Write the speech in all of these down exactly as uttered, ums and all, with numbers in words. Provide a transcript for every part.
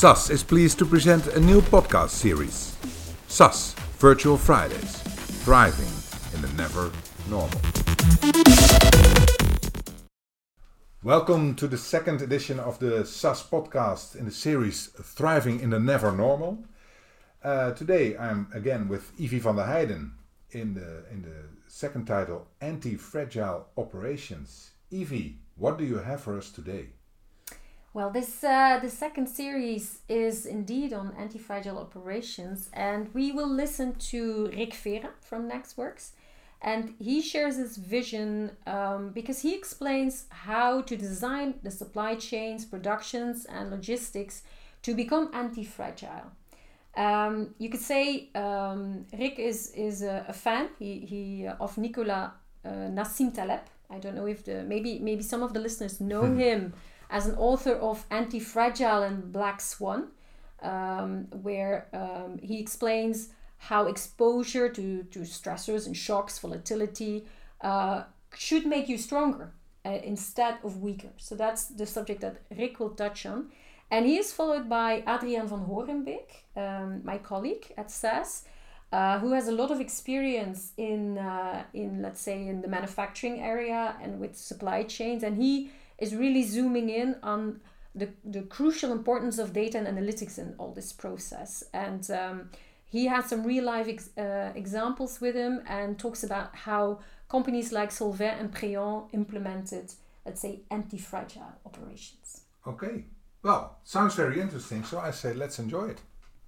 S A S is pleased to present a new podcast series, S A S Virtual Fridays, Thriving in the Never Normal. Welcome to the second edition of the S A S podcast in the series Thriving in the Never Normal. Uh, today I'm again with Ivy van der Heijden in the in the second title, Anti-Fragile Operations. Ivy, what do you have for us today? Well, this uh, the second series is indeed on anti-fragile operations, and we will listen to Rick Vera from Nextworks, and he shares his vision um, because he explains how to design the supply chains, productions, and logistics to become anti-fragile. Um, you could say um, Rick is is a, a fan he, he uh, of Nicolas uh, Nassim Taleb. I don't know if the maybe maybe some of the listeners know him as an author of Anti-Fragile and Black Swan, um, where um, he explains how exposure to, to stressors and shocks, volatility, uh, should make you stronger uh, instead of weaker. So that's the subject that Rick will touch on. And he is followed by Adriaan van Horenbeek, um, my colleague at S A S, uh, who has a lot of experience in, uh, in, let's say, in the manufacturing area and with supply chains. And he is really zooming in on the, the crucial importance of data and analytics in all this process. And um, he has some real life ex- uh, examples with him and talks about how companies like Solvay and Préon implemented, let's say, anti-fragile operations. Okay, well, sounds very interesting, so I say let's enjoy it.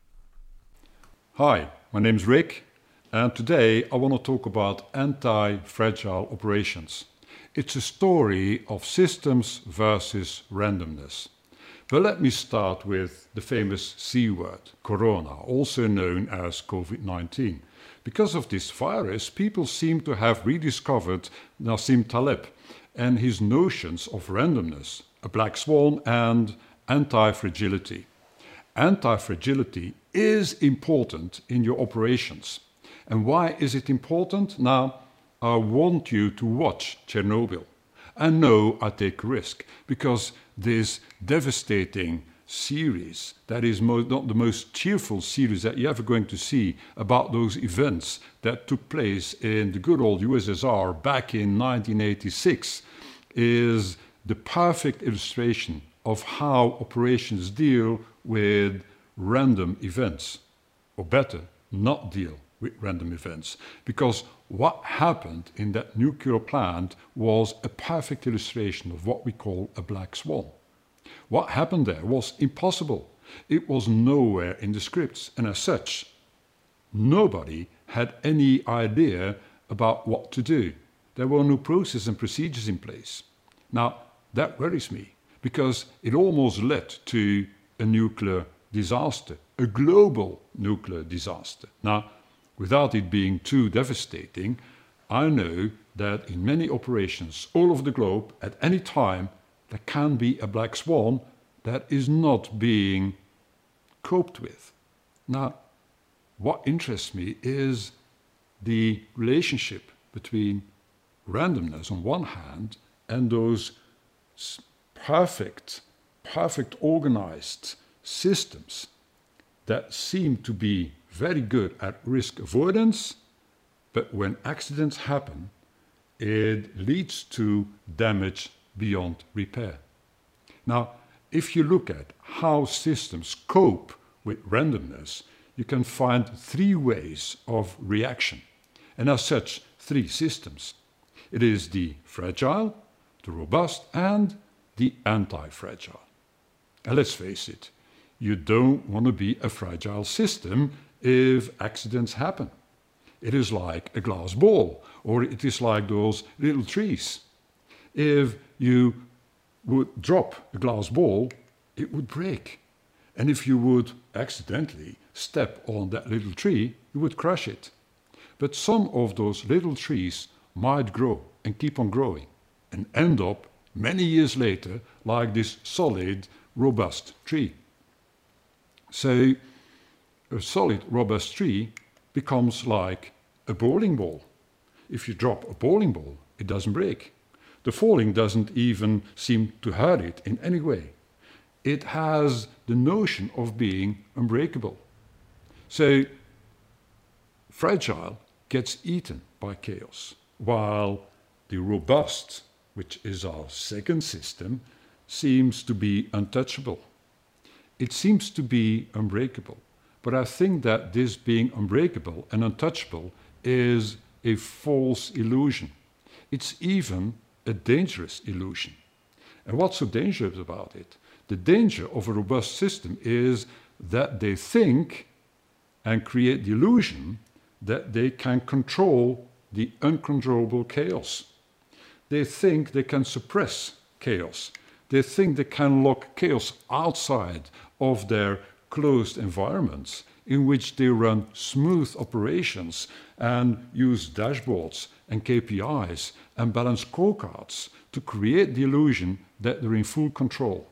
Hi, my name's Rick, and today I want to talk about anti-fragile operations. It's a story of systems versus randomness. But let me start with the famous C word, corona, also known as covid nineteen. Because of this virus, people seem to have rediscovered Nassim Taleb and his notions of randomness, a black swan, and anti-fragility. Anti-fragility is important in your operations. And why is it important? Now, I want you to watch Chernobyl. And no, I take a risk, because this devastating series, that is mo- not the most cheerful series that you're ever going to see about those events that took place in the good old U S S R back in nineteen eighty-six, is the perfect illustration of how operations deal with random events, or better, not deal with random events, because what happened in that nuclear plant was a perfect illustration of what we call a black swan. What happened there was impossible. It was nowhere in the scripts, and as such, nobody had any idea about what to do. There were no processes and procedures in place. Now, that worries me, because it almost led to a nuclear disaster, a global nuclear disaster. Now, without it being too devastating, I know that in many operations all over the globe, at any time, there can be a black swan that is not being coped with. Now, what interests me is the relationship between randomness on one hand and those perfect, perfect organized systems that seem to be very good at risk avoidance, but when accidents happen, it leads to damage beyond repair. Now, if you look at how systems cope with randomness, you can find three ways of reaction, and as such, three systems. It is the fragile, the robust, and the anti-fragile. And let's face it, you don't want to be a fragile system if accidents happen. It is like a glass ball, or it is like those little trees. If you would drop a glass ball, it would break. And if you would accidentally step on that little tree, you would crush it. But some of those little trees might grow and keep on growing and end up many years later like this solid, robust tree. So a solid, robust tree becomes like a bowling ball. If you drop a bowling ball, it doesn't break. The falling doesn't even seem to hurt it in any way. it has the notion of being unbreakable. So fragile gets eaten by chaos, while the robust, which is our second system, seems to be untouchable. It seems to be unbreakable. But I think that this being unbreakable and untouchable is a false illusion. It's even a dangerous illusion. And what's so dangerous about it? The danger of a robust system is that they think and create the illusion that they can control the uncontrollable chaos. They think they can suppress chaos. They think they can lock chaos outside of their closed environments in which they run smooth operations and use dashboards and K P Is and balanced scorecards to create the illusion that they're in full control.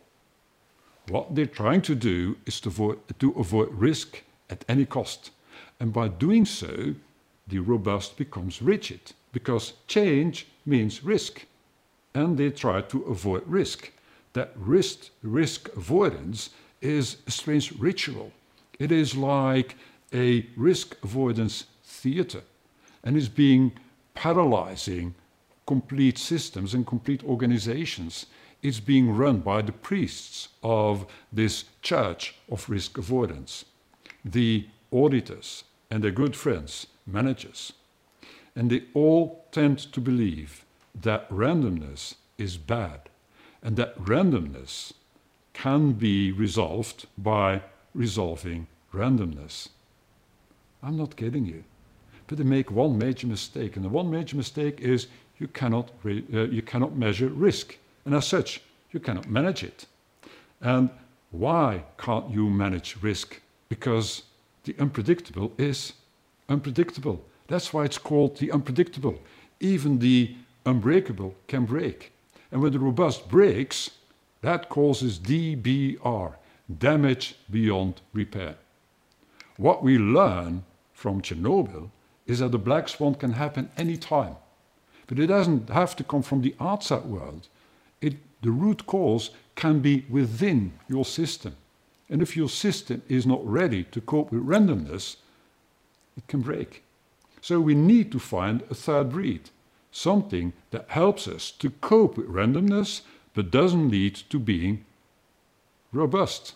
What they're trying to do is to avoid, to avoid risk at any cost. And by doing so, the robust becomes rigid, because change means risk. And they try to avoid risk. That risk, risk avoidance is a strange ritual. It is like a risk avoidance theater, and is being paralyzing complete systems and complete organizations. It's being run by the priests of this church of risk avoidance, the auditors and their good friends, managers. And they all tend to believe that randomness is bad, and that randomness can be resolved by resolving randomness. I'm not kidding you. But they make one major mistake, and the one major mistake is you cannot, re- uh, you cannot measure risk, and as such, you cannot manage it. And why can't you manage risk? Because the unpredictable is unpredictable. That's why it's called the unpredictable. Even the unbreakable can break. And when the robust breaks, that causes D B R, damage beyond repair. What we learn from Chernobyl is that the black swan can happen any time. But it doesn't have to come from the outside world. It, the root cause can be within your system. And if your system is not ready to cope with randomness, it can break. So we need to find a third breed, something that helps us to cope with randomness but doesn't lead to being robust.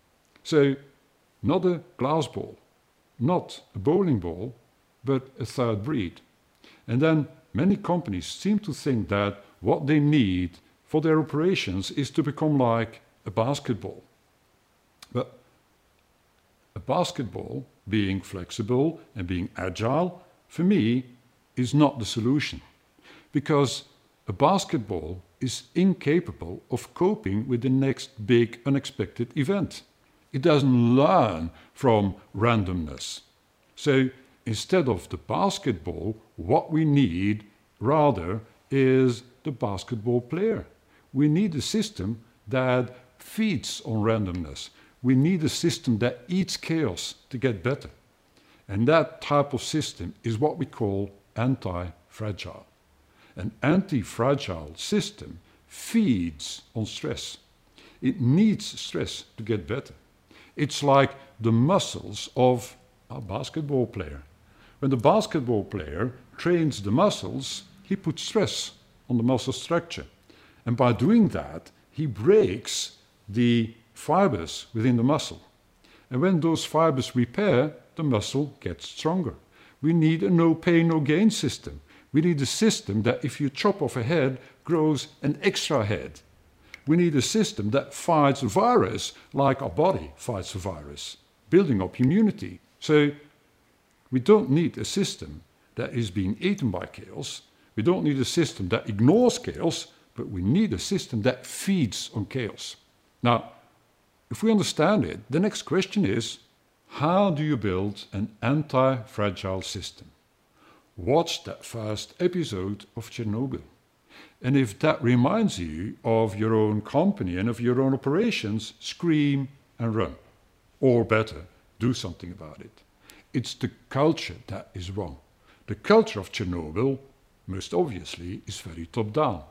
So not a glass ball, not a bowling ball, but a third breed. And then many companies seem to think that what they need for their operations is to become like a basketball. But a basketball, being flexible and being agile, for me, is not the solution. Because a basketball is incapable of coping with the next big unexpected event. It doesn't learn from randomness. So instead of the basketball, what we need rather is the basketball player. We need a system that feeds on randomness. We need a system that eats chaos to get better. And that type of system is what we call anti-fragile. An anti-fragile system feeds on stress. It needs stress to get better. It's like the muscles of a basketball player. When the basketball player trains the muscles, he puts stress on the muscle structure. And by doing that, he breaks the fibers within the muscle. And when those fibers repair, the muscle gets stronger. We need a no pain, no gain system. We need a system that if you chop off a head, grows an extra head. We need a system that fights a virus like our body fights a virus, building up immunity. So we don't need a system that is being eaten by chaos. We don't need a system that ignores chaos, but we need a system that feeds on chaos. Now, if we understand it, the next question is, how do you build an anti-fragile system? Watch that first episode of Chernobyl. And if that reminds you of your own company and of your own operations, scream and run. Or better, do something about it. It's the culture that is wrong. The culture of Chernobyl, most obviously, is very top-down.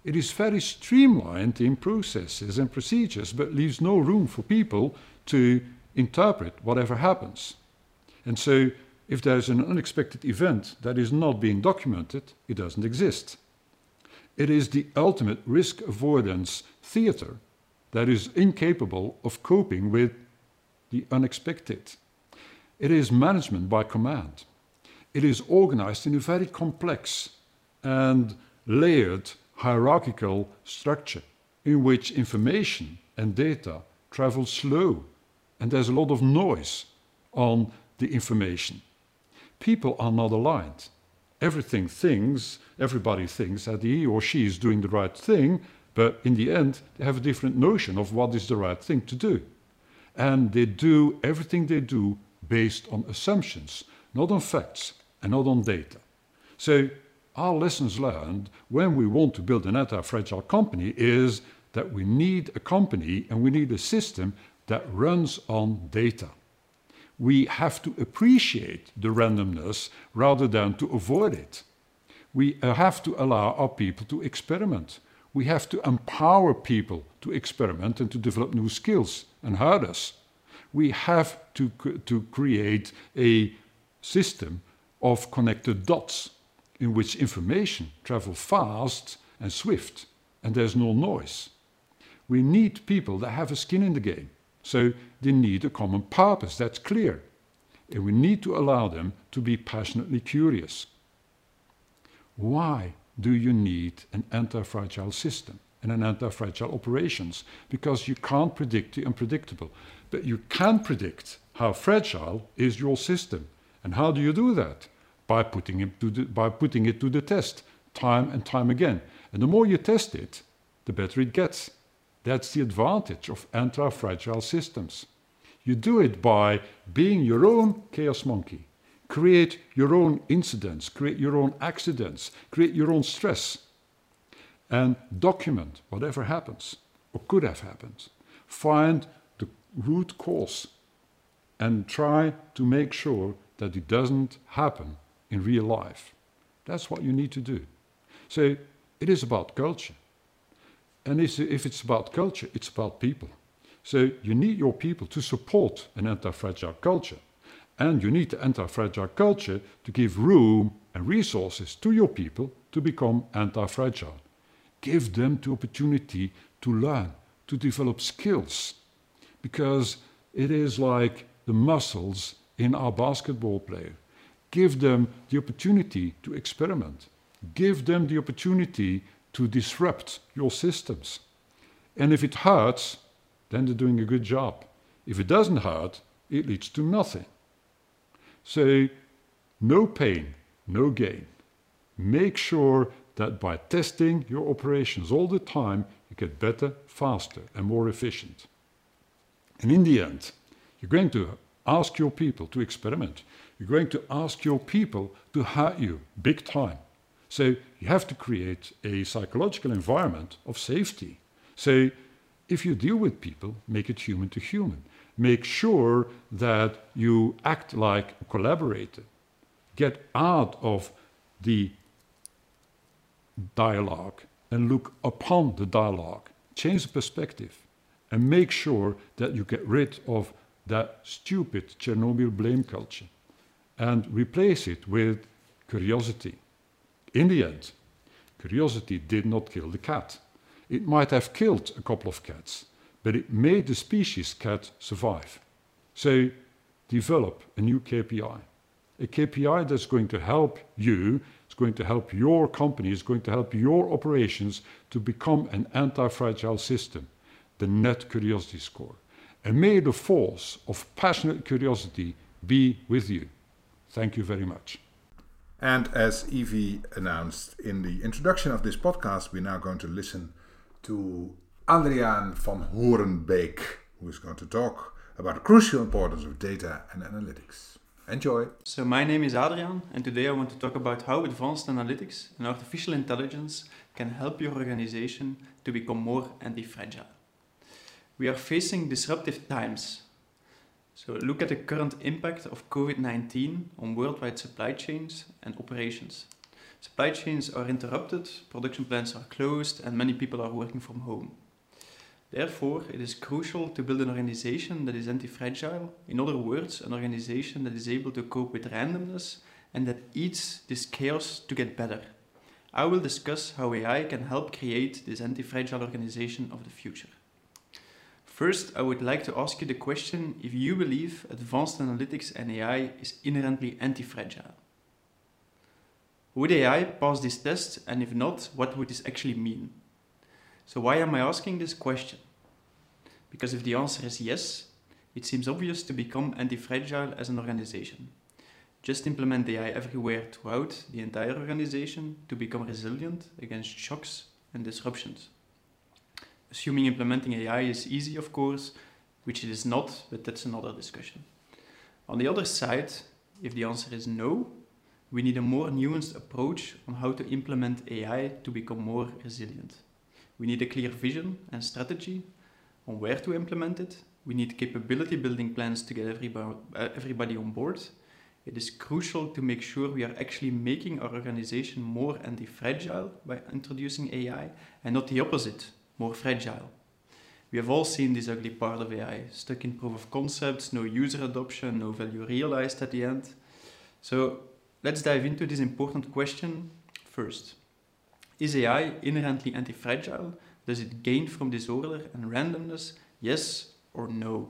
It is very streamlined in processes and procedures, but leaves no room for people to interpret whatever happens. And so, if there's an unexpected event that is not being documented, it doesn't exist. It is the ultimate risk avoidance theater that is incapable of coping with the unexpected. It is management by command. It is organized in a very complex and layered hierarchical structure in which information and data travel slow, and there's a lot of noise on the information. People are not aligned. Everything thinks, everybody thinks that he or she is doing the right thing, but in the end they have a different notion of what is the right thing to do. And they do everything they do based on assumptions, not on facts and not on data. So our lessons learned when we want to build an anti-fragile company is that we need a company and we need a system that runs on data. We have to appreciate the randomness rather than to avoid it. We have to allow our people to experiment. We have to empower people to experiment and to develop new skills and hurdles. We have to, to create a system of connected dots in which information travels fast and swift, and there's no noise. We need people that have a skin in the game, so they need a common purpose that's clear, and we need to allow them to be passionately curious. Why do you need an anti-fragile system and an anti-fragile operations? Because you can't predict the unpredictable, but you can predict how fragile is your system. And how do you do that? By putting it to the, by putting it to the test time and time again. And the more you test it, the better it gets. That's the advantage of anti-fragile systems. You do it by being your own chaos monkey. Create your own incidents, create your own accidents, create your own stress, and document whatever happens or could have happened. Find the root cause and try to make sure that it doesn't happen in real life. That's what you need to do. So it is about culture. And if it's about culture, it's about people. So you need your people to support an anti-fragile culture. And you need the anti-fragile culture to give room and resources to your people to become anti-fragile. Give them the opportunity to learn, to develop skills. Because it is like the muscles in our basketball player. Give them the opportunity to experiment. Give them the opportunity to disrupt your systems. And if it hurts, then they're doing a good job. If it doesn't hurt, it leads to nothing. So, no pain, no gain. Make sure that by testing your operations all the time, you get better, faster, and more efficient. And in the end, you're going to ask your people to experiment. You're going to ask your people to hurt you big time. So you have to create a psychological environment of safety. So if you deal with people, make it human to human. Make sure that you act like a collaborator. Get out of the dialogue and look upon the dialogue. Change the perspective and make sure that you get rid of that stupid Chernobyl blame culture and replace it with curiosity. In the end, curiosity did not kill the cat. It might have killed a couple of cats, but it made the species cat survive. So develop a new K P I. A K P I that's going to help you, it's going to help your company, it's going to help your operations to become an anti-fragile system, the Net Curiosity Score. And may the force of passionate curiosity be with you. Thank you very much. And as Evie announced in the introduction of this podcast, we're now going to listen to Adriaan van Horenbeek, who is going to talk about the crucial importance of data and analytics. Enjoy. So my name is Adriaan, and today I want to talk about how advanced analytics and artificial intelligence can help your organization to become more anti-fragile. We are facing disruptive times. So look at the current impact of COVID nineteen on worldwide supply chains and operations. Supply chains are interrupted, production plants are closed, and many people are working from home. Therefore, it is crucial to build an organization that is anti-fragile, in other words, an organization that is able to cope with randomness and that eats this chaos to get better. I will discuss how A I can help create this anti-fragile organization of the future. First, I would like to ask you the question if you believe advanced analytics and A I is inherently anti-fragile. Would A I pass this test, and if not, what would this actually mean? So why am I asking this question? Because if the answer is yes, it seems obvious to become anti-fragile as an organization. Just implement A I everywhere throughout the entire organization to become resilient against shocks and disruptions. Assuming implementing A I is easy, of course, which it is not, but that's another discussion. On the other side, if the answer is no, we need a more nuanced approach on how to implement A I to become more resilient. We need a clear vision and strategy on where to implement it. We need capability building plans to get everybody, uh, everybody on board. It is crucial to make sure we are actually making our organization more anti-fragile by introducing A I and not the opposite, more fragile. We have all seen this ugly part of A I, stuck in proof of concepts, no user adoption, no value realized at the end. So let's dive into this important question first. Is A I inherently anti-fragile? Does it gain from disorder and randomness? Yes or no?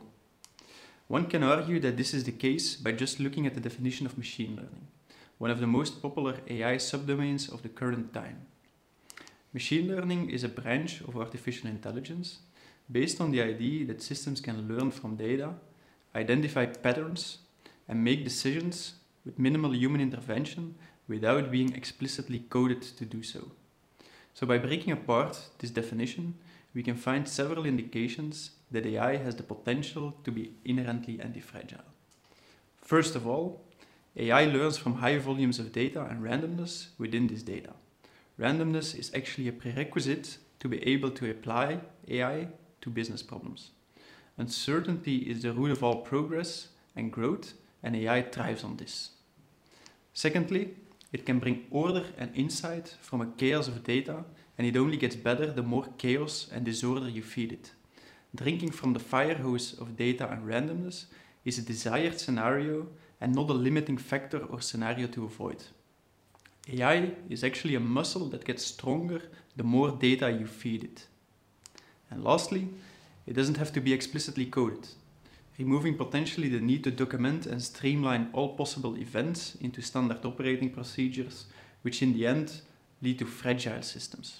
One can argue that this is the case by just looking at the definition of machine learning, one of the most popular A I subdomains of the current time. Machine learning is a branch of artificial intelligence based on the idea that systems can learn from data, identify patterns, and make decisions with minimal human intervention without being explicitly coded to do so. So by breaking apart this definition, we can find several indications that A I has the potential to be inherently anti-fragile. First of all, A I learns from high volumes of data and randomness within this data. Randomness is actually a prerequisite to be able to apply A I to business problems. Uncertainty is the root of all progress and growth, and A I thrives on this. Secondly, it can bring order and insight from a chaos of data, and it only gets better the more chaos and disorder you feed it. Drinking from the fire hose of data and randomness is a desired scenario and not a limiting factor or scenario to avoid. A I is actually a muscle that gets stronger the more data you feed it. And lastly, it doesn't have to be explicitly coded, removing potentially the need to document and streamline all possible events into standard operating procedures, which in the end lead to fragile systems.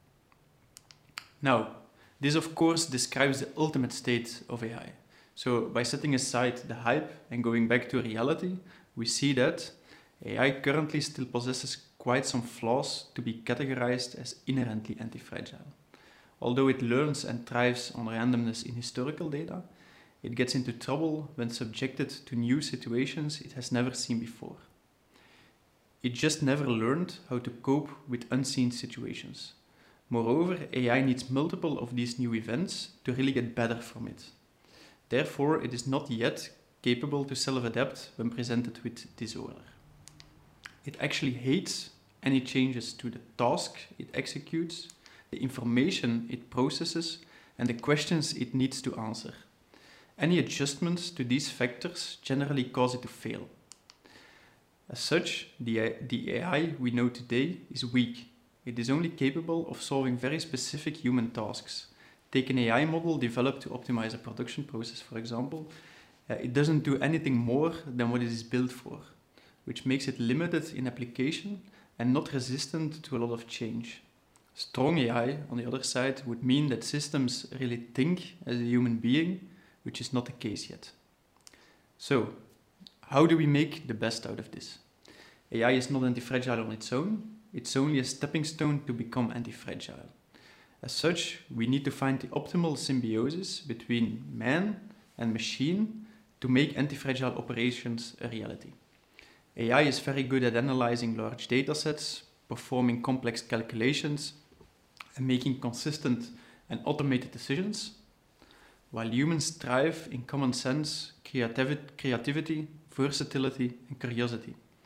Now, this of course describes the ultimate state of A I. So by setting aside the hype and going back to reality, we see that A I currently still possesses quite some flaws to be categorized as inherently anti-fragile. Although it learns and thrives on randomness in historical data, it gets into trouble when subjected to new situations it has never seen before. It just never learned how to cope with unseen situations. Moreover, A I needs multiple of these new events to really get better from it. Therefore, it is not yet capable to self-adapt when presented with disorder. It actually hates any changes to the task it executes, the information it processes, and the questions it needs to answer. Any adjustments to these factors generally cause it to fail. As such, the, the A I we know today is weak. It is only capable of solving very specific human tasks. Take an A I model developed to optimize a production process, for example. Uh, it doesn't do anything more than what it is built for, which makes it limited in application and not resistant to a lot of change. Strong A I, on the other side, would mean that systems really think as a human being, which is not the case yet. So, how do we make the best out of this? A I is not anti-fragile on its own, it's only a stepping stone to become anti-fragile. As such, we need to find the optimal symbiosis between man and machine to make anti-fragile operations a reality. A I is very good at analyzing large datasets, performing complex calculations, and making consistent and automated decisions, while humans thrive in common sense, creativity, versatility, and curiosity.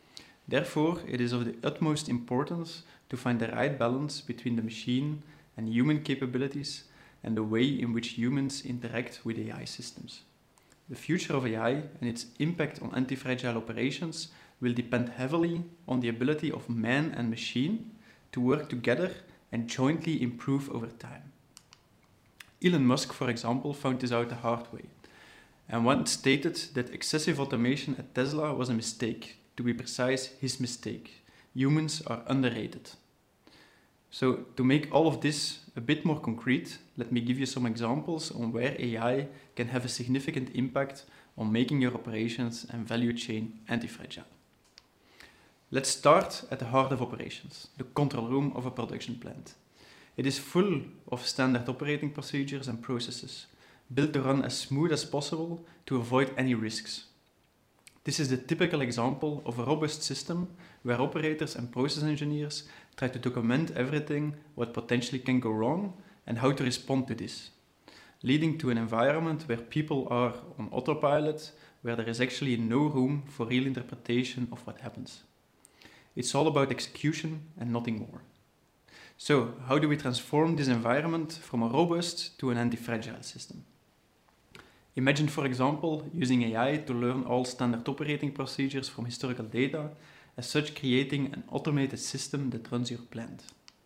Therefore, it is of the utmost importance to find the right balance between the machine and human capabilities and the way in which humans interact with A I systems. The future of A I and its impact on anti-fragile operations will depend heavily on the ability of man and machine to work together and jointly improve over time. Elon Musk, for example, found this out the hard way, and once stated that excessive automation at Tesla was a mistake. To be precise, his mistake. Humans are underrated. So, to make all of this a bit more concrete, let me give you some examples on where A I can have a significant impact on making your operations and value chain anti-fragile. Let's start at the heart of operations, the control room of a production plant. It is full of standard operating procedures and processes, built to run as smooth as possible to avoid any risks. This is the typical example of a robust system where operators and process engineers try to document everything what potentially can go wrong and how to respond to this, leading to an environment where people are on autopilot, where there is actually no room for real interpretation of what happens. It's all about execution and nothing more. So, how do we transform this environment from a robust to an anti-fragile system? Imagine, for example, using A I to learn all standard operating procedures from historical data, as such creating an automated system that runs your plant.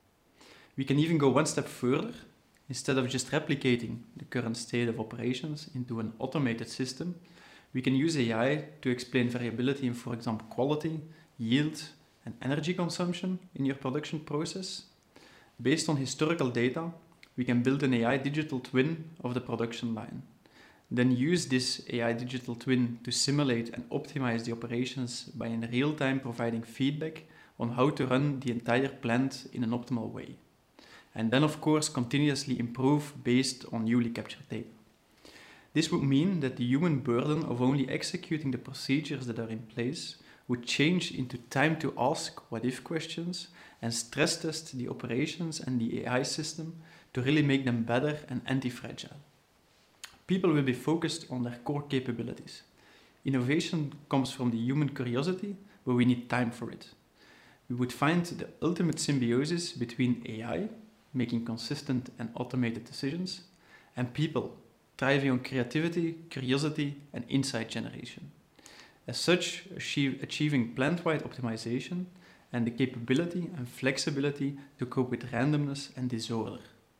We can even go one step further. Instead of just replicating the current state of operations into an automated system, we can use A I to explain variability in, for example, quality, yield, and energy consumption in your production process. Based on historical data, we can build an A I digital twin of the production line. Then use this A I digital twin to simulate and optimize the operations by in real time providing feedback on how to run the entire plant in an optimal way. And then of course continuously improve based on newly captured data. This would mean that the human burden of only executing the procedures that are in place would change into time to ask what-if questions and stress test the operations and the A I system to really make them better and anti-fragile. People will be focused on their core capabilities. Innovation comes from the human curiosity, but we need time for it. We would find the ultimate symbiosis between A I, making consistent and automated decisions, and people, thriving on creativity, curiosity, and insight generation. As such, achieve, achieving plant-wide optimization and the capability and flexibility to cope with randomness and disorder.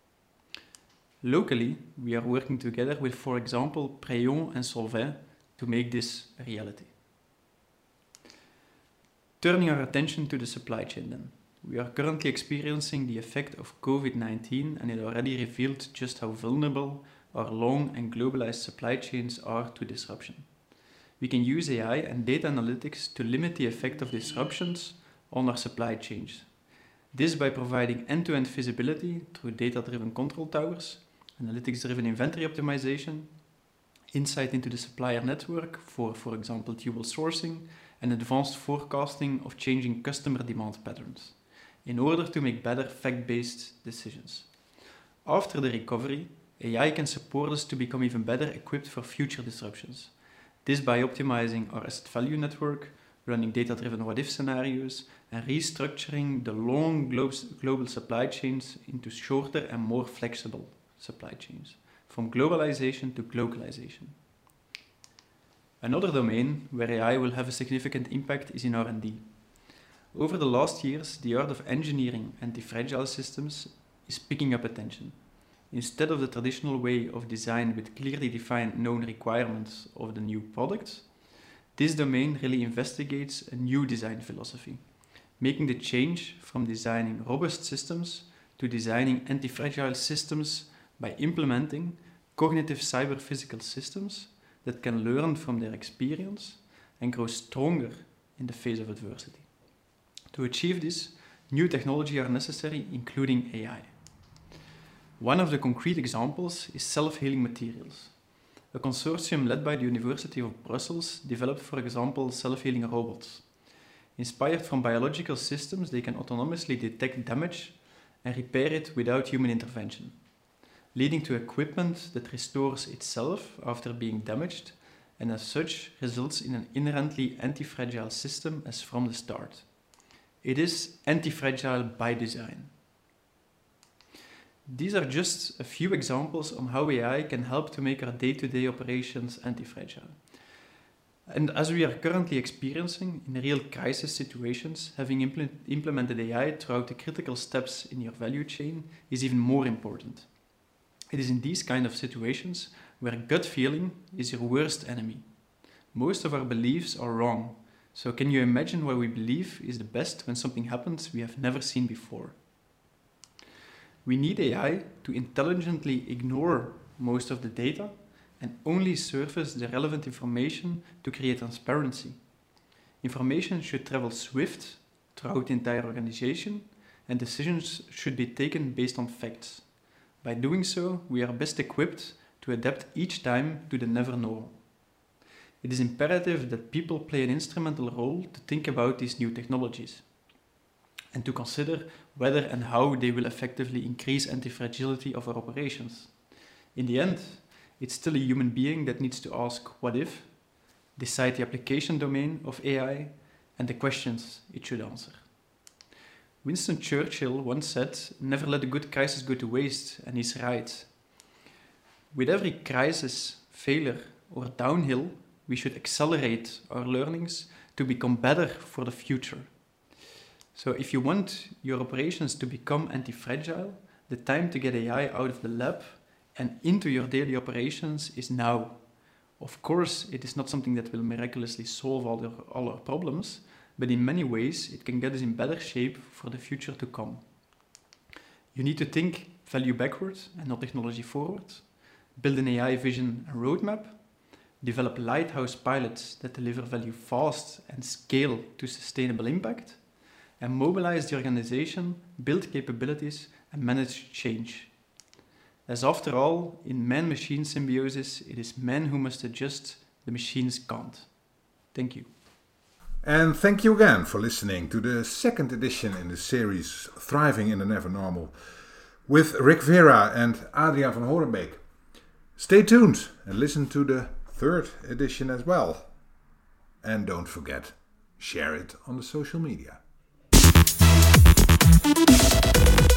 Locally, we are working together with, for example, Preon and Solvay to make this a reality. Turning our attention to the supply chain then. We are currently experiencing the effect of COVID nineteen, and it already revealed just how vulnerable our long and globalized supply chains are to disruption. We can use A I and data analytics to limit the effect of disruptions on our supply chains. This by providing end-to-end visibility through data-driven control towers, analytics-driven inventory optimization, insight into the supplier network for, for example, dual sourcing, and advanced forecasting of changing customer demand patterns, in order to make better fact-based decisions. After the recovery, A I can support us to become even better equipped for future disruptions. This by optimizing our asset value network, running data-driven what-if scenarios, and restructuring the long glo- global supply chains into shorter and more flexible supply chains, from globalization to localization. Another domain where A I will have a significant impact is in R and D. Over the last years, the art of engineering anti-fragile systems is picking up attention. Instead of the traditional way of design with clearly defined known requirements of the new product, this domain really investigates a new design philosophy, making the change from designing robust systems to designing anti-fragile systems by implementing cognitive cyber-physical systems that can learn from their experience and grow stronger in the face of adversity. To achieve this, new technology are necessary, including A I. One of the concrete examples is self-healing materials. A consortium led by the University of Brussels developed, for example, self-healing robots. Inspired from biological systems, they can autonomously detect damage and repair it without human intervention, leading to equipment that restores itself after being damaged and as such results in an inherently anti-fragile system as from the start. It is anti-fragile by design. These are just a few examples on how A I can help to make our day-to-day operations anti-fragile. And as we are currently experiencing in real crisis situations, having impl- implemented A I throughout the critical steps in your value chain is even more important. It is in these kind of situations where gut feeling is your worst enemy. Most of our beliefs are wrong, so can you imagine what we believe is the best when something happens we have never seen before? We need A I to intelligently ignore most of the data and only surface the relevant information to create transparency. Information should travel swift throughout the entire organization, and decisions should be taken based on facts. By doing so, we are best equipped to adapt each time to the never normal. It is imperative that people play an instrumental role to think about these new technologies and to consider whether and how they will effectively increase anti-fragility of our operations. In the end, it's still a human being that needs to ask what if, decide the application domain of A I, and the questions it should answer. Winston Churchill once said, "Never let a good crisis go to waste," and he's right. With every crisis, failure, or downhill, we should accelerate our learnings to become better for the future. So if you want your operations to become anti-fragile, the time to get A I out of the lab and into your daily operations is now. Of course, it is not something that will miraculously solve all, the, all our problems, but in many ways it can get us in better shape for the future to come. You need to think value backward and not technology forward, build an A I vision and roadmap, develop lighthouse pilots that deliver value fast and scale to sustainable impact, and mobilize the organization, build capabilities, and manage change. As after all, in man-machine symbiosis, it is man who must adjust, the machines can't. Thank you. And thank you again for listening to the second edition in the series Thriving in the Never Normal with Rick Vera and Adriaan van Horenbeek. Stay tuned and listen to the third edition as well. And don't forget, share it on the social media.